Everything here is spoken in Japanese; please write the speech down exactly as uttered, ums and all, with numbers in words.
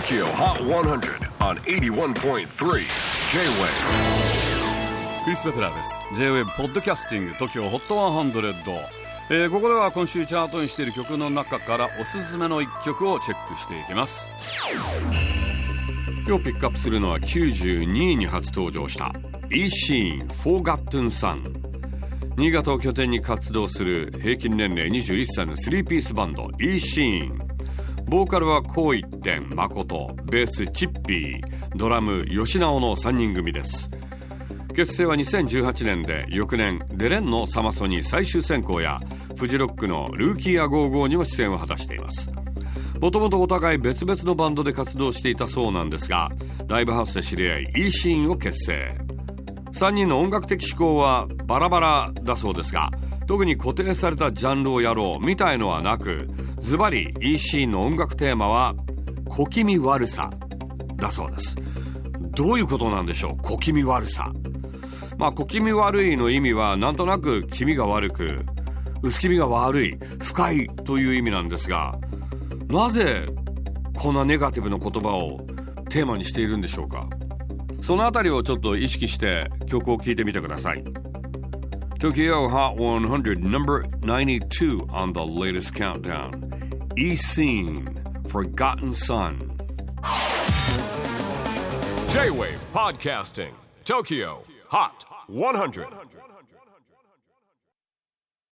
Tokyo Hot one hundred on エイティワンポイントスリー J-Wave。 クリス・ベプラーです。 J-Wave ポッドキャスティング Tokyo Hot ワンハンドレッド、えー、ここでは今週チャートにしている曲の中からおすすめのいっきょくをチェックしていきます。今日ピックアップするのはきゅうじゅうにいに初登場した イーシーン Forgotten Son。 新潟を拠点に活動する平均年齢にじゅういっさいのスリーピースバンド イーシーン。ボーカルはこう一点誠、ベースチッピー、ドラム吉直のさんにん組です。結成はにせんじゅうはちねんで、翌年デレンのサマソニ最終選考やフジロックのルーキーアゴーゴーにも出演を果たしています。もともとお互い別々のバンドで活動していたそうなんですが、ライブハウスで知り合いイーシーンを結成。さんにんの音楽的思考はバラバラだそうですが、特に固定されたジャンルをやろうみたいのはなく、ズバリ イーシーン の音楽テーマは小気味悪さだそうです。どういうことなんでしょう、小気味悪さ。まあ小気味悪いの意味はなんとなく気味が悪く、薄気味が悪い、不快という意味なんですが、なぜこんなネガティブな言葉をテーマにしているんでしょうか。そのあたりをちょっと意識して曲を聴いてみてください。 Tokyo Hot one hundred number ninety-two on the latest countdown,イーシーン Forgotten Son。 J-Wave Podcasting Tokyo Hot one hundred